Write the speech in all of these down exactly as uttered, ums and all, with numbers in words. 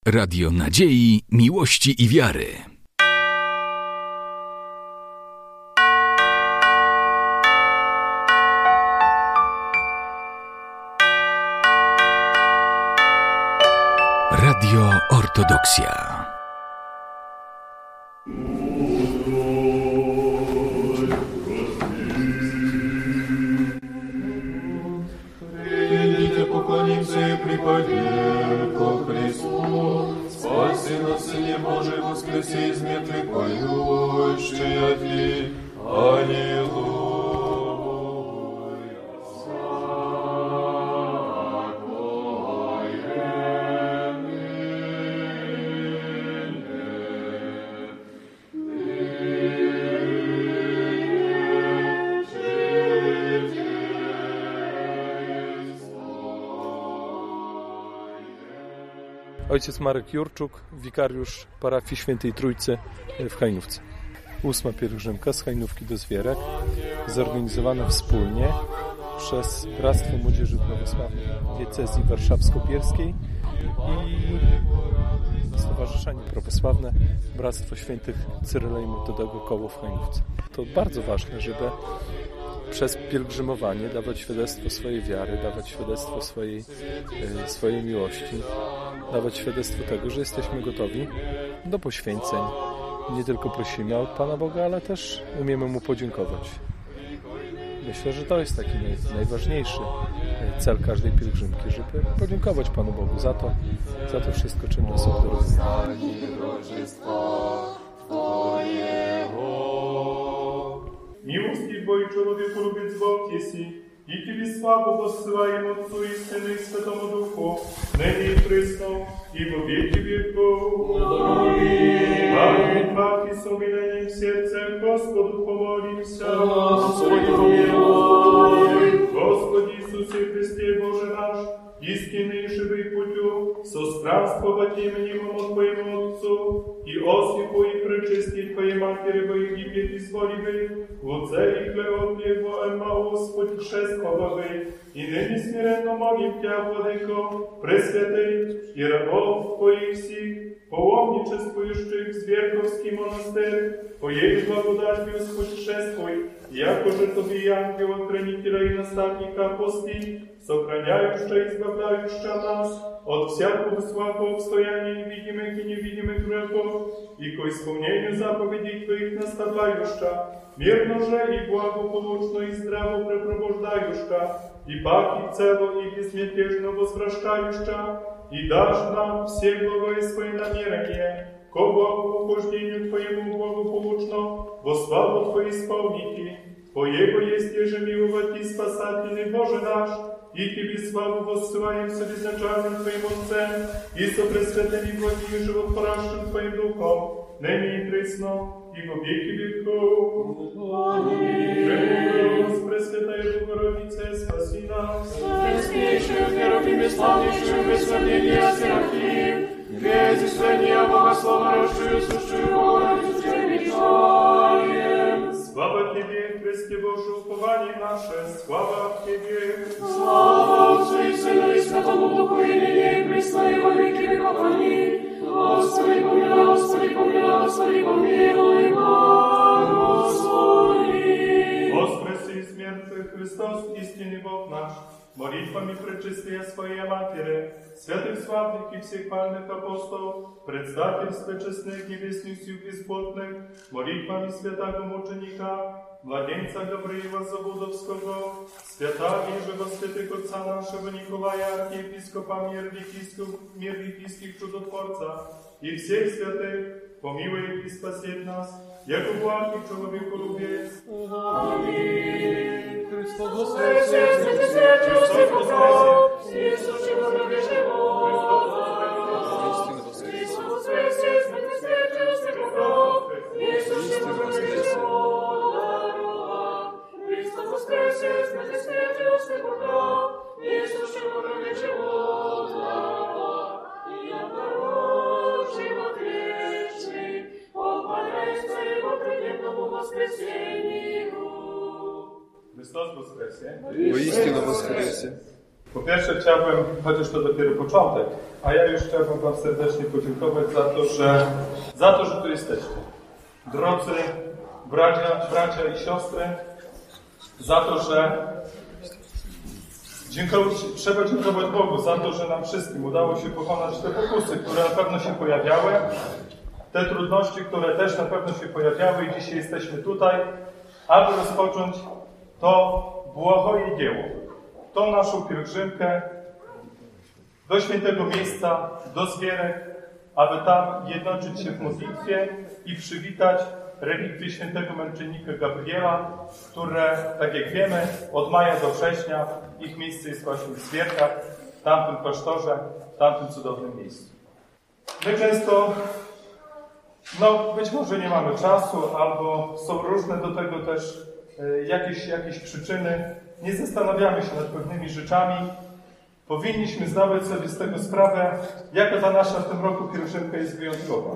Radio nadziei, miłości i wiary. Radio Ortodoksja. Придите, поклонимся и припадем ко Христу, спаси нас, Сыне Божий, воскреси из мертвых, поющие Ти, Аллилуйя. Ojciec Marek Jurczuk, wikariusz parafii Świętej Trójcy w Hajnówce. Ósma pielgrzymka z Hajnówki do Zwierek, zorganizowana wspólnie przez Bractwo Młodzieży Prawosławnej Diecezji Warszawsko-Bielskiej i Stowarzyszenie Prawosławne Bractwo Świętych Cyryla i Metodego Koło w Hajnówce. To bardzo ważne, żeby przez pielgrzymowanie dawać świadectwo swojej wiary, dawać świadectwo swojej, swojej miłości, dawać świadectwo tego, że jesteśmy gotowi do poświęceń. Nie tylko prosimy od Pana Boga, ale też umiemy Mu podziękować. Myślę, że to jest taki naj, najważniejszy cel każdej pielgrzymki, żeby podziękować Panu Bogu za to, za to wszystko, czym nas obdaruje. Милости Божий человеку любит Бог еси, и Тебе славу воссылаем Отцу и Сыну и Святому Духу, ныне и присно, и во веки веков. Аминь. Пак и с умилением сердца Господу помолимся. Господи, помилуй. Господи Иисусе Христе, Боже наш, истинный и живый путю, со странствовать именем Твоему Отцу, и Осипу и пречисти Твоей Матери во Египет изволивай, Луце и Клеопе во Эмаус путешествовавай, и ныне смиренно молим Тя, Владыко, Пресвятый, и рабов Твоих сих, паломничествующих в Зверковский монастырь, по Ей благодатью спутешествуй, якоже Тобі ангела-хранителя и наставника пусти, сохраняющая и избавляющая нас от всякого слабого обстояния видимых и невидимых грехов, и к исполнению заповедей Твоих наставляющая, мирно же и благополучно и здраво препровождающая, и паки цело и безмятежно возвращающая, и дашь нам все благое свои намерения, ко благоухождению Твоему благополучно, во славу Твою исполнити. По Его есть еже миловать и спасательный Боже наш, и Тебе славу воссылаем со безначальным Твоим Отцем, и со пресвятым и благим и животворящим Твоим Духом, ныне и присно, и во веки веков. Аминь. Пресвятая Богородица, спаси нас. Преснейшую, херувим, славнейшую, без сравнения Серафим, без исследования Богослова, росшую, сущую Богородицу, величаем. Слава Тебе, Христе Божие, упование наше, слава Тебе. Слава Отцу и Сыну и Святому Духу, и ныне и присно, и во веки веков. Аминь. Господи, помилуй, Господи, помилуй, Господи, помилуй, Господи. Воскреси из мертвых Христос, истинный Бог наш, молитвами пречистия Своей Матери, святых славных и всех пальных апостолов, предстательства честных небесных сил бесплотных, молитвами святого мученика, младенца Гавриила Заводовского, свята Ижева святых отца нашего Николая, архиепископа мир векийских чудотворца, и всех святых, помилуй и спасет нас, яко благ и человеколюбец. Аминь. Христос воскресе, святый святый, Иосиф Богов, Иисус, человек живот. Христос воскресе, святый святый, Иосиф Богов, Иисус, человек живот. Христос воскресе, святый святый, Иосиф Богов, Иисус, человек живот. И народ живот вечный, поклоняйся Его трудному воскресению. Chrystus woskresie. Woistину woskresie. Po pierwsze chciałbym, chociaż to dopiero początek, a ja już chciałbym wam serdecznie podziękować za to, że, za to, że tu jesteście. Drodzy bracia, bracia i siostry, za to, że dziękować, trzeba dziękować Bogu za to, że nam wszystkim udało się pokonać te pokusy, które na pewno się pojawiały, te trudności, które też na pewno się pojawiały i dzisiaj jesteśmy tutaj, aby rozpocząć to błahoje dzieło, tą naszą pielgrzymkę do świętego miejsca, do Zwierek, aby tam jednoczyć się w modlitwie i przywitać relikwie świętego męczennika Gabriela, które, tak jak wiemy, od maja do września ich miejsce jest właśnie w Zwierkach, w tamtym klasztorze, w tamtym cudownym miejscu. My często, no być może nie mamy czasu, albo są różne do tego też e, jakieś, jakieś przyczyny, nie zastanawiamy się nad pewnymi rzeczami. Powinniśmy zdawać sobie z tego sprawę, jaka ta nasza w tym roku pielgrzymka jest wyjątkowa.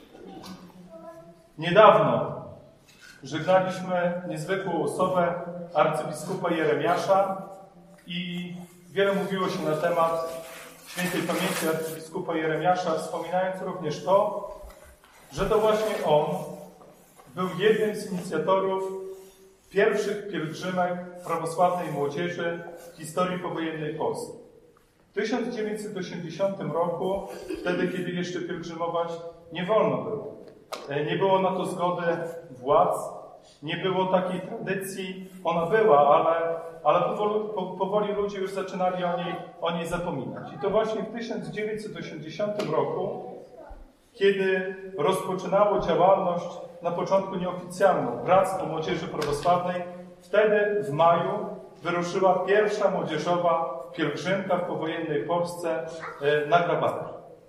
Niedawno żegnaliśmy niezwykłą osobę arcybiskupa Jeremiasza i wiele mówiło się na temat świętej pamięci arcybiskupa Jeremiasza, wspominając również to, że to właśnie on był jednym z inicjatorów pierwszych pielgrzymek prawosławnej młodzieży w historii powojennej Polski. W tysiąc dziewięćset osiemdziesiątym roku, wtedy kiedy jeszcze pielgrzymować nie wolno było. Nie było na to zgody władz, nie było takiej tradycji, ona była, ale, ale powoli, po, powoli ludzie już zaczynali o niej, o niej zapominać. I to właśnie w tysiąc dziewięćset osiemdziesiątym roku, kiedy rozpoczynało działalność na początku nieoficjalną Bractwo Młodzieży Prawosławnej, wtedy w maju wyruszyła pierwsza młodzieżowa pielgrzymka w powojennej Polsce na Grabary.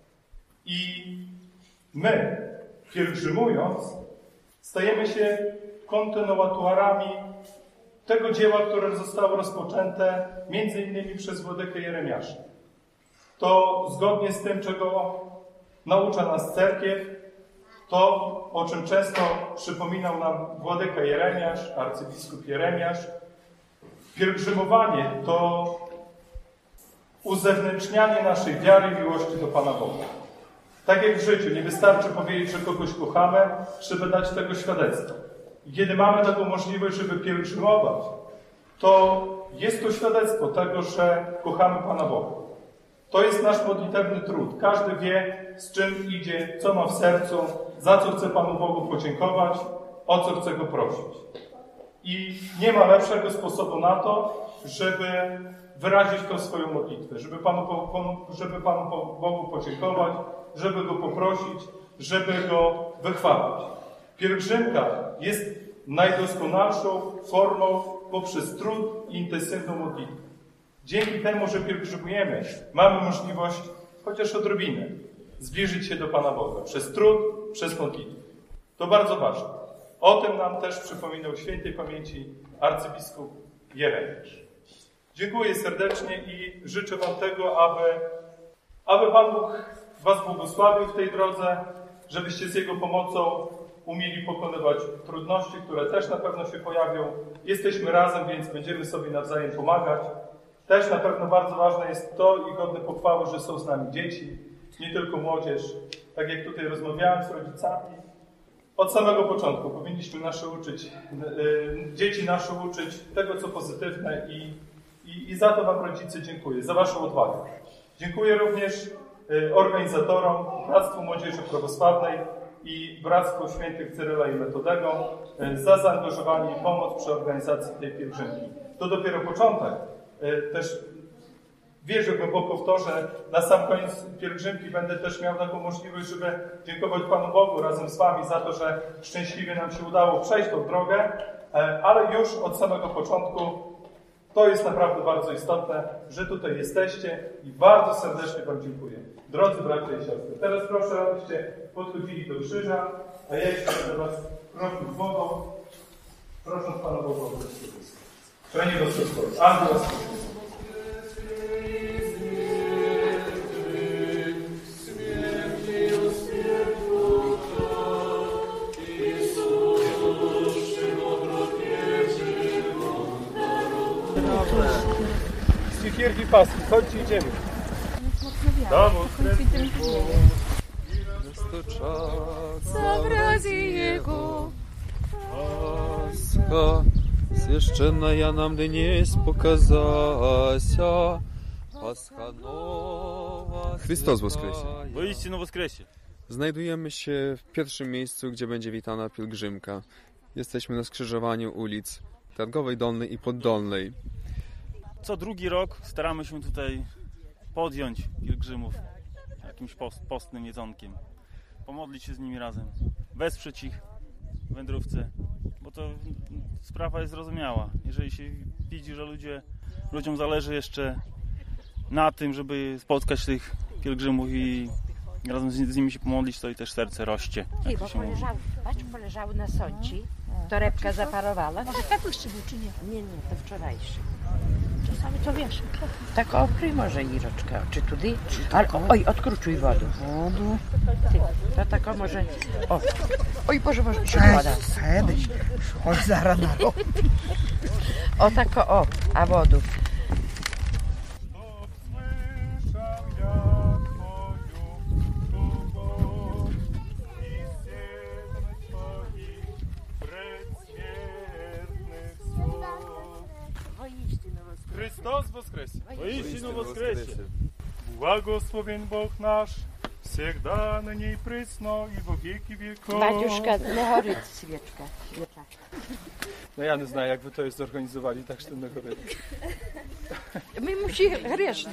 I my, pielgrzymując, stajemy się kontynuatorami tego dzieła, które zostało rozpoczęte między innymi przez Władykę Jeremiasza. To zgodnie z tym, czego naucza nas cerkiew, to, o czym często przypominał nam Władyka Jeremiasz, arcybiskup Jeremiasz, pielgrzymowanie to uzewnętrznianie naszej wiary i miłości do Pana Boga. Tak jak w życiu, nie wystarczy powiedzieć, że kogoś kochamy, trzeba dać tego świadectwo. I kiedy mamy taką możliwość, żeby pielgrzymować, to jest to świadectwo tego, że kochamy Pana Boga. To jest nasz modlitewny trud. Każdy wie, z czym idzie, co ma w sercu, za co chce Panu Bogu podziękować, o co chce Go prosić. I nie ma lepszego sposobu na to, żeby wyrazić tą swoją modlitwę, żeby Panu, żeby Panu Bogu podziękować, żeby Go poprosić, żeby Go wychwalić. Pielgrzymka jest najdoskonalszą formą poprzez trud i intensywną modlitwę. Dzięki temu, że pielgrzymujemy, mamy możliwość, chociaż odrobinę, zbliżyć się do Pana Boga. Przez trud, przez modlitwę. To bardzo ważne. O tym nam też przypominał świętej pamięci arcybiskup Jeremiasz. Dziękuję serdecznie i życzę Wam tego, aby, aby Pan Bóg Was błogosławił w tej drodze, żebyście z Jego pomocą umieli pokonywać trudności, które też na pewno się pojawią. Jesteśmy razem, więc będziemy sobie nawzajem pomagać. Też na pewno bardzo ważne jest to i godne pochwały, że są z nami dzieci, nie tylko młodzież. Tak jak tutaj rozmawiałem z rodzicami, od samego początku powinniśmy nasze uczyć, yy, dzieci nasze uczyć tego, co pozytywne i, i, i za to Wam, rodzice, dziękuję, za Waszą odwagę. Dziękuję również yy, organizatorom, Bractwu Młodzieży Prawosławnej i Bractwu Świętych Cyryla i Metodego yy, za zaangażowanie i pomoc przy organizacji tej pielgrzymki. To dopiero początek. Yy, też wierzę głęboko w to, że na sam koniec pielgrzymki będę też miał taką możliwość, żeby dziękować Panu Bogu razem z Wami za to, że szczęśliwie nam się udało przejść tą drogę, ale już od samego początku to jest naprawdę bardzo istotne, że tutaj jesteście i bardzo serdecznie Wam dziękuję. Drodzy bracia i siostry, teraz proszę, abyście podchodzili do krzyża, a ja jeszcze będę Was prosił wodą, prosząc Pana Boga o błogosławieństwo. Przejdzie do spokoju. Amen. Stichierki paski, chodźcie, idziemy. Mocno wiatr. Да воскресне Бог. Dostoczaca wrazi Jego. Пасха священная нам днесь показася. Пасха nowa. Chrystus woskresie. Woistinu woskresie. Znajdujemy się w pierwszym miejscu, gdzie będzie witana pielgrzymka. Jesteśmy na skrzyżowaniu ulic Targowej Dolnej i Poddolnej. Co drugi rok staramy się tutaj podjąć pielgrzymów jakimś post, postnym jedzonkiem. Pomodlić się z nimi razem. Wesprzeć ich w wędrówce. Bo to sprawa jest zrozumiała. Jeżeli się widzi, że ludzie, ludziom zależy jeszcze na tym, żeby spotkać tych pielgrzymów i razem z, z nimi się pomodlić, to i też serce rośnie. Ej, bo poleżały, patrz, poleżały na sąci. Torebka zaparowała. Może kapuście był, czy nie? Nie, nie, to wczorajszy. Czasami to wiesz. Tak opryj może Iroczka. Czy tudy? Ale, oj, odkruczuj wodę. Wodu. To tak o może... O, oj Boże, może się woda. Kiedyś, chodź zaraz na rok. O tak o, o, a wodu. Христос воскресе! Woistinu woskresie. Благословен Бог наш, всегда на ней присно и во веки веков. Batiuszka, nie chory świeczka. Świeczka. No ja nie znam, jak wy to jest zorganizowali, tak że ten chory. My musi grzeszny.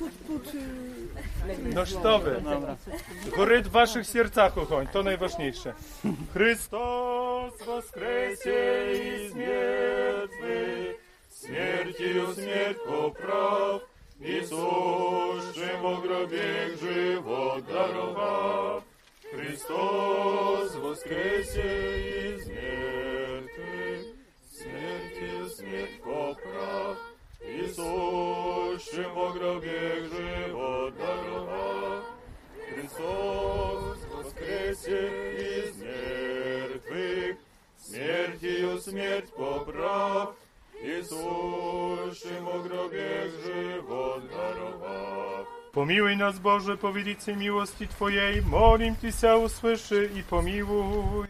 No что вы? Горит в ваших сердцах огонь, то найважніше. Христос воскресе из мертвых, смертью смерть поправ, Иисусшим во гробе живот даровав. Христос воскресе из мертвых, смертью смерть поправ, Иисусшим во гробе живот даровав. Христос воскресе из мертвых, смертью смерть поправ, Иисусшим во гробе живот даровав. Помилуй нас, Боже, по великой милости Твоей, молим Тебя, услыши и помилуй.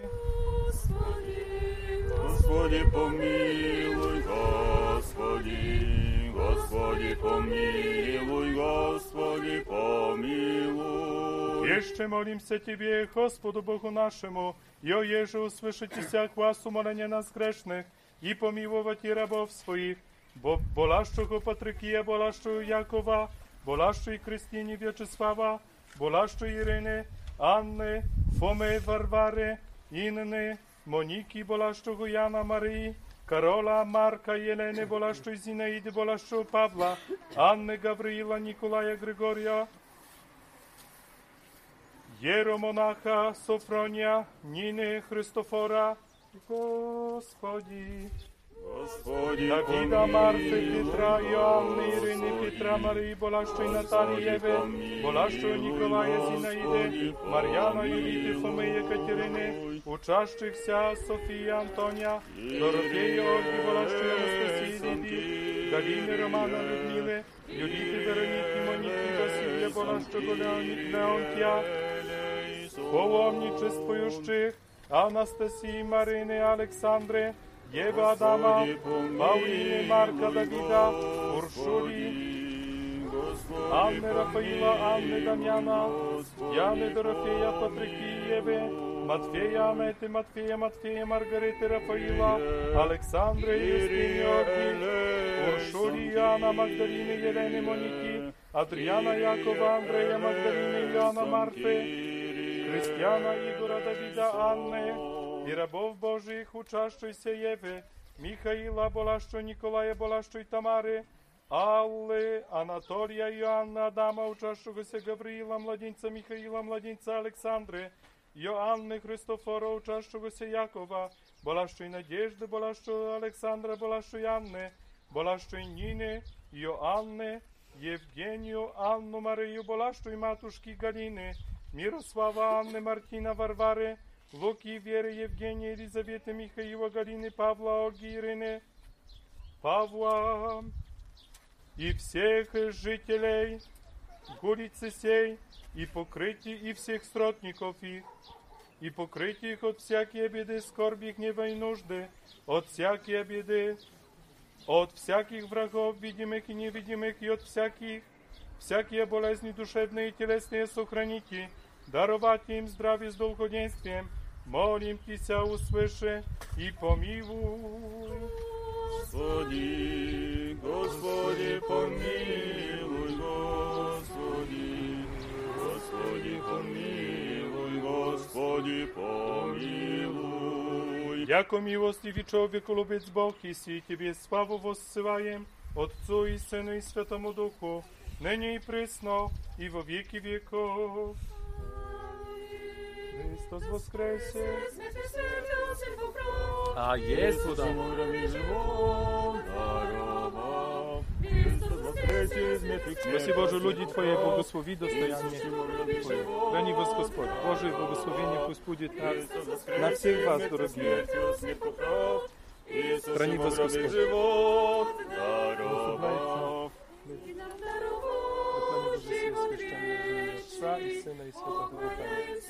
Господи, помилуй, Господи, Господи, помилуй, Господи, помилуй. Еще молимся Тебе, Господу Богу нашему, и о еже услышите вся глаз умоления нас грешных, и помиловать и рабов своих, бо болащого Патрикия, болащого Якова, болащої Кристині В'ячеслава, болащої Ірини, Анни, Фоми, Варвари, Інни, Моніки, болащого Яна, Марії, Карола, Марка, Єлени, болащої Зінаїди, болащого Павла, Анни, Гавриїла, Ніколая, Григорія, Єромонаха, Софронія, Ніни, Христофора, Господи, Господи, Давида, Марфи, Петра, Иоанны, Ирины, Петра, Марии, болащой Натальи, Евы, болащого Николая, Зинаиды, Марьяна, Юлиты, Фомы, Екатерины, учащихся Софии, Антония, Дорофея, Ольги, болащой Анастасии, Лидии, Галины, Романа, Людмилы, Юлиты, Вероники, Моники, Василия, болащого Леонтия, паломничествующих, Анастасии, Марины, Александры, Ева, Адама, Паулины, Марка, Давида, Уршули, Анны, Рафаила, Анны, Дамьяна, Яны, Дорофея, Патрикии, Евы, Матфея, Аметы, Матфея, Матфея, Маргариты, Рафаила, Александры, Юстины, Орги, Уршули, Иоанна, Магдалины, Елены, Моники, Адриана, Якова, Андрея, Магдалины, Иоанна, Марфы, Христиана, Игора, Давида, Анны, и рабов Божьих, учащейся Евы, Михаила, болащего Николая, болащей Тамары, Аллы, Анатолия, Иоанна, Адама, учащегося Гавриила, младенца Михаила, младенца Александры, Иоанны, Христофора, учащегося Якова, болащей Надежды, болащего Александра, болащей Анны, болащей Нины, Иоанны, Евгению, Анну, Марию, болащей матушки Галины, Мирослава, Анны, Мартина, Варвары, Луки, Веры, Евгения, Елизаветы, Михаила, Галины, Павла, Ольги, Ирины, Павла и всех жителей улице сей, и покрытие и всех сродников их, и покрытие их от всякие беды, скорби, гнева и нужды, от всякие беды, от всяких врагов, видимых и невидимых, и от всяких, всякие болезни душевные и телесные сохраните, даровать им здравие с долгоденствием. Молим Тися, услыши и помилуй. Господи, Господи, помилуй, Господи, Господи, помилуй, Господи, помилуй. Яко милостивый человеколюбец Бог, если Тебе славу воссылаем, Отцу и Сыну и Святому Духу, ныне и присно, и во веки веков. Христос воскресе! A jest woda. Спаси Боже, люди Твои, благослови достояние Твое. Храни вас Господь. Божие благословение пусть будет на, на всех вас, дорогие. Храни вас Господь. Отца и Сына и Святого Духа.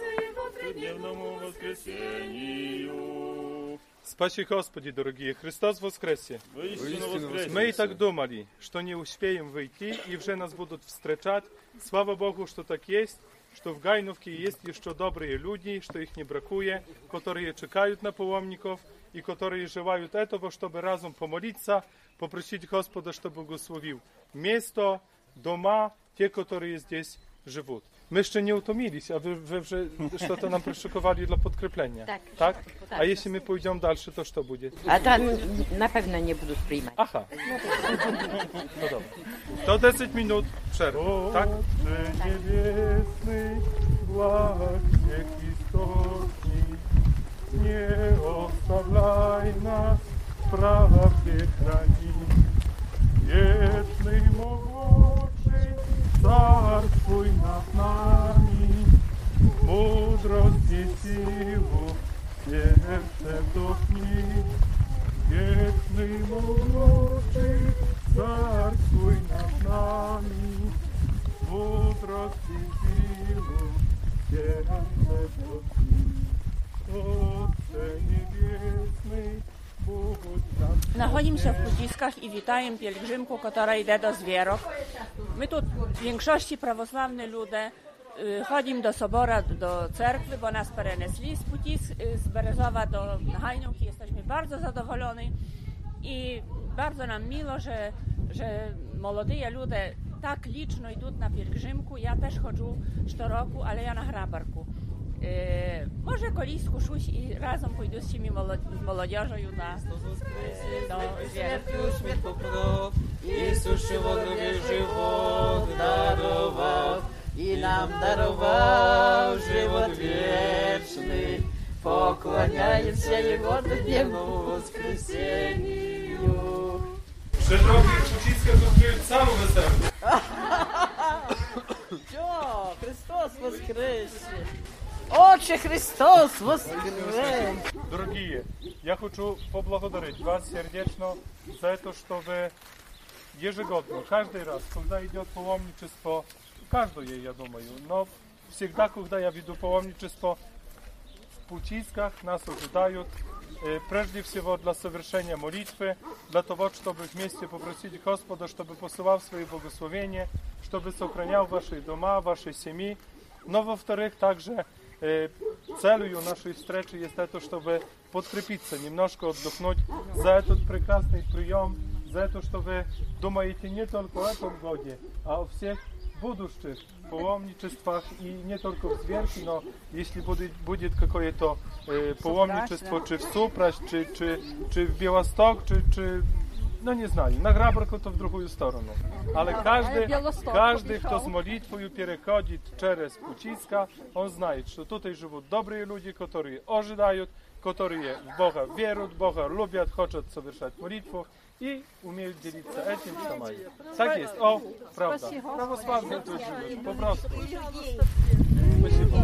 Спаси Господи, дорогие, Христос воскресе! Мы и так думали, что не успеем выйти, и уже нас будут встречать. Слава Богу, что так есть, что в Гайновке есть еще добрые люди, что их не бракует, которые чекают на паломников и которые желают этого, чтобы разом помолиться, попросить Господа, чтобы благословил место, дома, те, которые здесь живут. My jeszcze nie utomiliśmy, a wy, wy, wy что-то нам przyszykowali dla podkreplenia. Tak. Tak? A jeśli my pójdziemy dalsze, to co będzie? A tam na pewno nie budu przyjmować. Aha. No dobra. To dziesięć minut przerwy, tak? Niebiesny, błagnie Chrystosi, nie ostawiaj nas, prawdzie chrani. Wieczny mogłoczy, Carstwuj nad nami, mądrość i siłą, serce wdochnij. Wieczny mogłoczy, Carstwuj nad nami, mądrość i siłą, serce wdochnij. Otcze niebiesny, Знаходимся в Путисках и витаем пилигримку, которая йде до Звірок. Ми тут в większości православні люди, ходимо до собора, до церкви, bo nas перенесли z Putisk, z Berezowa do Hajnówki. Jesteśmy bardzo zadowoleni i bardzo nam miło, że, że młodzi ludzie tak liczno idą na pielgrzymku. Ja też chodzę co roku, ale ja na Hrabarku. E, może колись скушусь і разом пойду з цими молодежою на до Ісус животнові живот дарував, і нам дарував живот вічний. Поклоняємося Його дневному воскресенню. Przed rokiem Puciska zустріли саму веселу. Що? Христос воскресе! Отче Христос воскрес! Дорогие, я хочу поблагодарить вас сердечно за это, что вы ежегодно, каждый раз, когда идет паломничество, каждое, я думаю, но всегда, когда я веду паломничество, в Puciskach нас ожидают, прежде всего для совершения молитвы, для того, чтобы вместе попросить Господа, чтобы посылал свои благословения, чтобы сохранял ваши дома, ваши семьи. Но, во-вторых, также э, целью нашей встречи есть это, чтобы подкрепиться, немножко отдохнуть за этот прекрасный прием, за это, что вы думаете не только о этом годе, а о всех будущих паломничествах, и не только в Звірки, но если будет, будет какое-то э, паломничество, чи в Супраш, чи, чи, чи в Białystok, czy, czy no nie знаю, na Hrabarku to w drugą stronę. Ale każdy, każdy, kto z modlitwą переходит через Puciska, on знает, что tutaj живут добрые люди, которые ожидают, которые в Бога веруют, Бога любят, хотят совершать молитву и умеют делиться этим, что mają. Tak jest, o, prawda. Prawosławnie tu żyjesz, po prostu. Спасибо.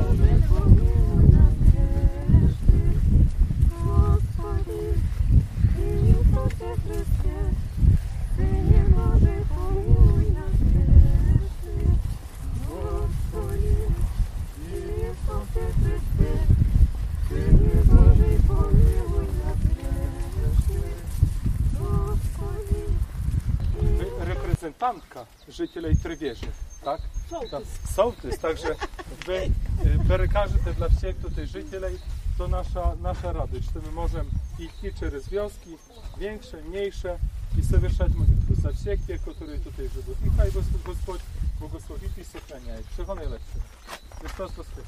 bratanka życielej Trywieży, tak? Sołtys. Sołtys, także wy, perekarzy te dla wsiek tutaj życielej, to nasza, nasza radość, że my możemy ich cztery z wioski, większe, mniejsze i совершать молитву za всех, które tutaj живут. I хай Господь благословит и сохраняет. Всего наилучшего. Христос воскрес.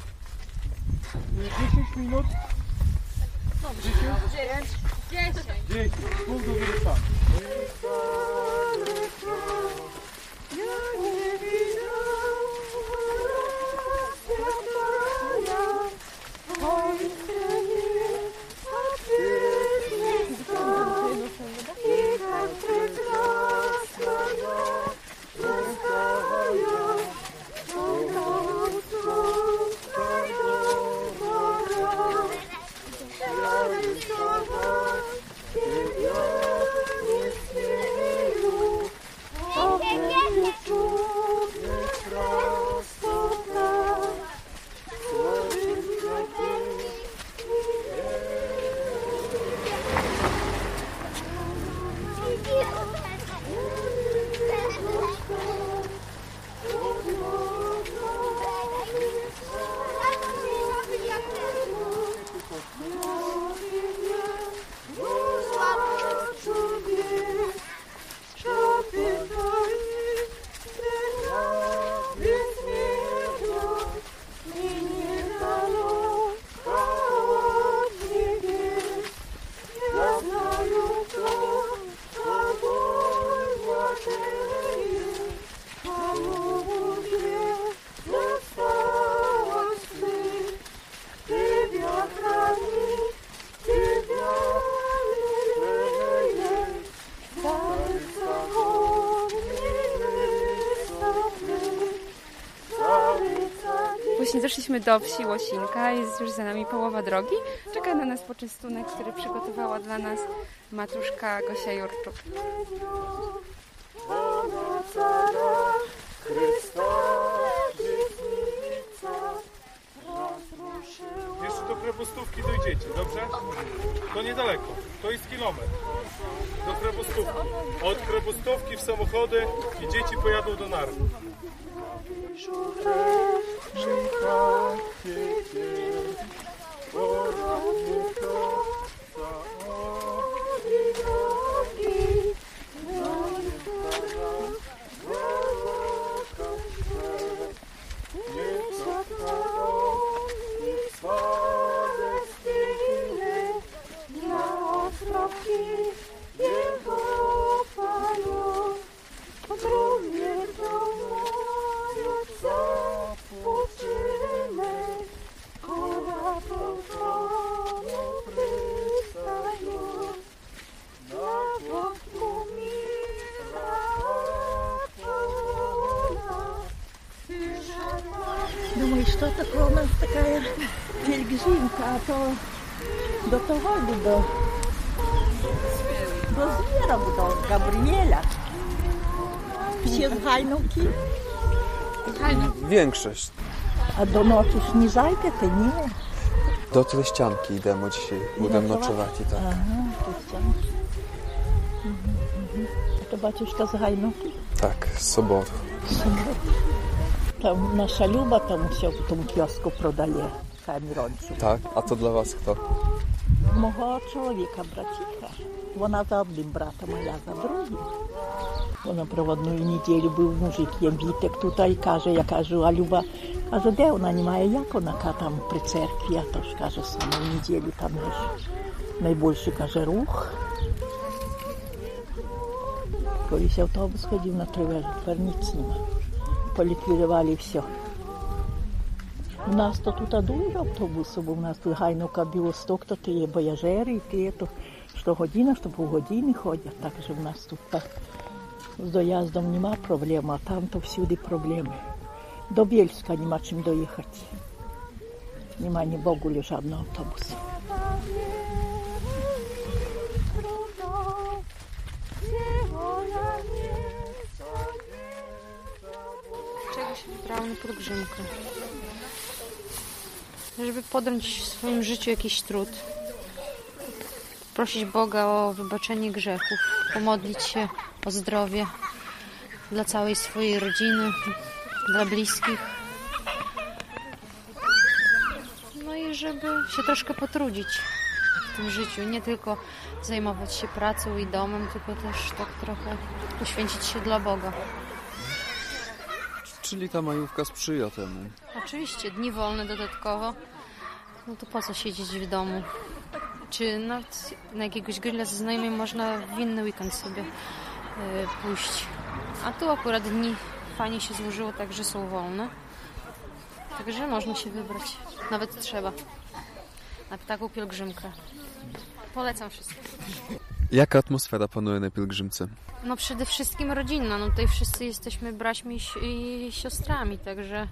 I dziesięć minut. dziesięć? dziesięć. dziesięć. Pół do wyrywania. Właśnie doszliśmy do wsi Łosinka, jest już za nami połowa drogi. Czeka na nas poczęstunek, który przygotowała dla nas matruszka Gosia Jurczuk. Jeszcze do Krepostówki dojdziecie, dobrze? To niedaleko, to jest kilometr. Do Krepostówki. Od Krepostówki w samochody i dzieci pojadą do Narwy. Думаю, что такое у нас такая пельгримка, а то до того, до, до Звірок, до Габріеля. Всі з Гайновки. Większość. A do nocy już nie zajdziecie, nie? Do Treścianki idziemy dzisiaj. Będziemy nocować i tak. Aha, Treścianki. Mhm, mhm. A to baciuszka z Gajnovki? Tak, z Soboru. Tam nasza Люба там все в тому кіоску продає камеронцю. Так, а то для вас хто? Мого чоловіка, братіха. Вона за одним братом, а я за другим. Вона проводну неділю був мужик, є вітик тут, і каже, я кажу, а Люба, каже, де вона, немає, як вона, там при церкві, а то ж, каже, саме в неділю там ж найбільший, каже, рух. Колись автобус ходив на Тривежу, тепер ніц нема. Поліквідували все. У нас то тут дуже автобусів, бо у нас тут Гайновка, Білосток, то є бояжери, і ті, то що година, що півгодини ходять. Так що у нас тут так з доїздом нема проблем, а там то всюди проблеми. До Бєльська нема чим доїхати. Нема ні Богулі жодного автобусу. Czego się wybrałam na pielgrzymkę? Żeby podjąć w swoim życiu jakiś trud. Prosić Boga o wybaczenie grzechów, pomodlić się o zdrowie, dla całej swojej rodziny, dla bliskich. No i żeby się troszkę potrudzić w tym życiu, nie tylko zajmować się pracą i domem, tylko też tak trochę poświęcić się dla Boga. Czyli ta majówka sprzyja temu. Oczywiście, dni wolne dodatkowo, no to po co siedzieć w domu? Czy nawet na jakiegoś grilla ze znajomym można w inny weekend sobie yy, pójść. A tu akurat dni fajnie się złożyło tak, że są wolne. Także można się wybrać. Nawet trzeba. Na taką pielgrzymkę. Polecam wszystkim. Jaka atmosfera panuje na pielgrzymce? No przede wszystkim rodzinna. No tutaj wszyscy jesteśmy braćmi i siostrami, także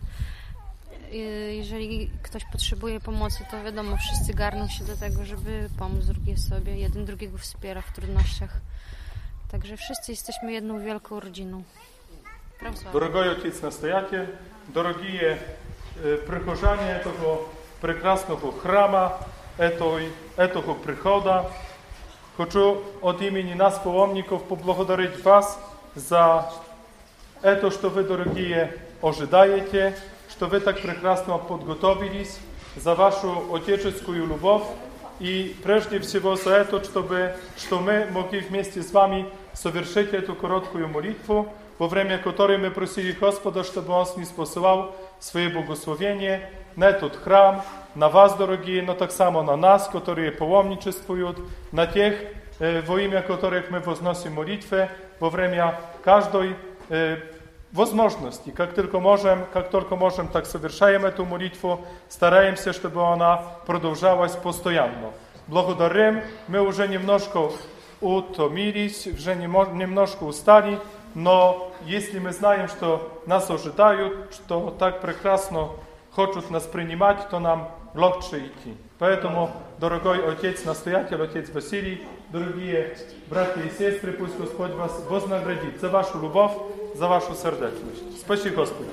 jeżeli ktoś potrzebuje pomocy, to wiadomo, wszyscy garną się do tego, żeby pomóc drugiej sobie. Jeden drugiego wspiera w trudnościach. Także wszyscy jesteśmy jedną wielką rodziną. Дорогой отець настоятель, дорогі прихожане того прекрасного храма, этого прихода, хочу от имени нас, паломников, поблагодарить вас за это, что вы, дорогие, ожидаете, что вы так прекрасно подготовились, за вашу отеческую любовь и прежде всего за это, чтобы, что мы могли вместе с вами совершить эту короткую молитву, во время которой мы просили Господа, чтобы Он ниспосылал свои благословения на этот храм, на вас, дорогие, но так само на нас, которые паломничествуют, на тех, э, во имя которых мы возносим молитвы во время каждой э, возможности. Как только можем, как только можем, так совершаем эту молитву, стараемся, чтобы она продолжалась постоянно. Благодарим, мы уже немножко утомились, уже немножко устали, но если мы знаем, что нас ожидают, что так прекрасно хотят нас принимать, то нам легче идти. Поэтому, дорогой отец-настоятель, отец Василий, дорогие братья и сестры, пусть Господь вас вознаградит за вашу любовь, za waszą serdeczność. Spasi Господи.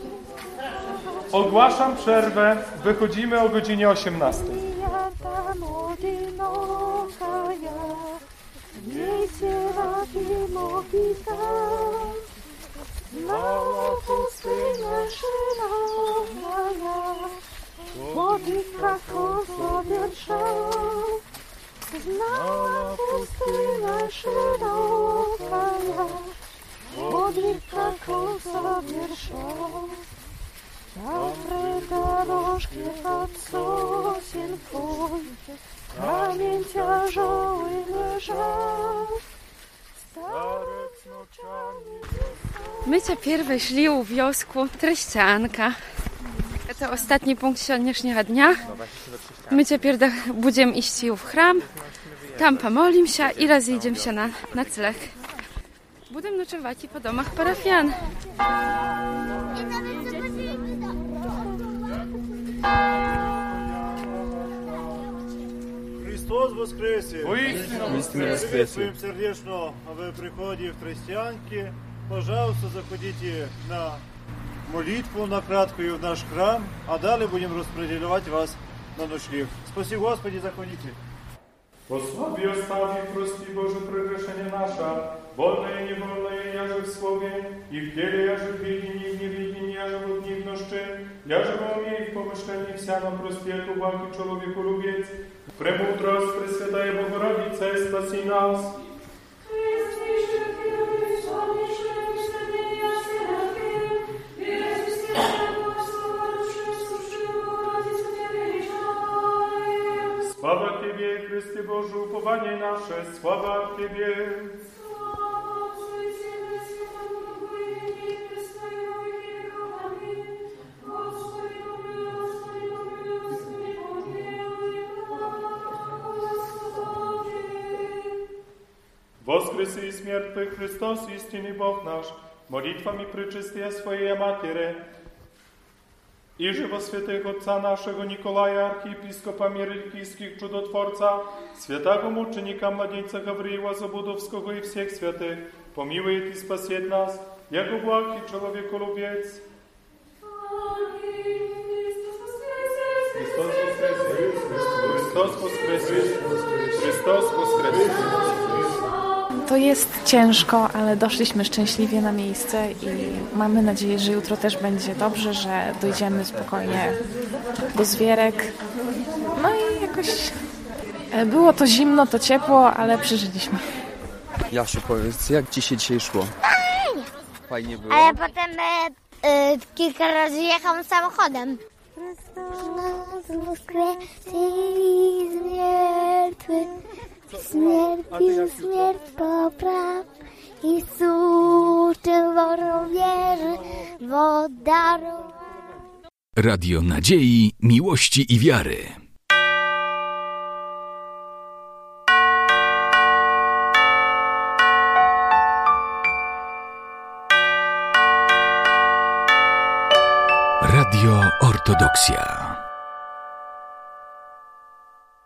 Ogłaszam przerwę. Wychodzimy o godzinie osiemnastej. Znała pustynia szeroka, modlitwa kosa wiersza. Dobre dorożki pod sosien twój, kamień ciężały leżał. Starec nocami... My теперь вошли у wiosku Treścianka. Это ostatni punkt сегодняшнего dnia. My теперь будем идти в храм, tam pomolimy się i rozejdziemy się na nocleg. Будем ночевать и по домах парафиян. Христос воскресе! Воистину воскресе! Приветствуем сердечно в приходе в Тростянки. Пожалуйста, заходите на молитву, на краткую в наш храм, а далее будем распределять вас на ночлег. Спасибо, Господи, заходите. Posławi ostawi, prosti Boże przegrzeszenie nasza, wolne i niewolne, jaże w słowie, i w dziele, jaże w wiedzenii, i w niewiedzenii, jaże w odniwności, jaże w umie i w pomyśleniu wsiano prosti, jako błagi człowieku lubiec. Pремудрость Пресвятая Богородица, спаси нас. Sława Ciebie, Chryste Boże, upowanie nasze, sława Ciebie. Воскреси из мертвых Христос, истинный Бог наш, молитвами пречистия Своей Матери, i żywo świętego Otca naszego Nikolaja, archiepископа Мирикийских чудотворца, святого мученика младенца Гавриила Забудовского и всех святых, помилует и спасет нас, яко благ и человеколюбец. Христос воскресе! Христос воскресе! Христос воскресе! To jest ciężko, ale doszliśmy szczęśliwie na miejsce i mamy nadzieję, że jutro też będzie dobrze, że dojdziemy spokojnie do Zwierek. No i jakoś było to zimno, to ciepło, ale przeżyliśmy. Jasiu, powiedz, jak ci się dzisiaj szło? Fajnie. Fajnie było? Ale potem e, e, kilka razy jechałam samochodem. Chrystus woskreśli z mертвых, śmierć śmierć popraw. Jezus, czerwoną wierzy, wodarą. Radio Nadziei, Miłości i Wiary. Radio Ortodoksja.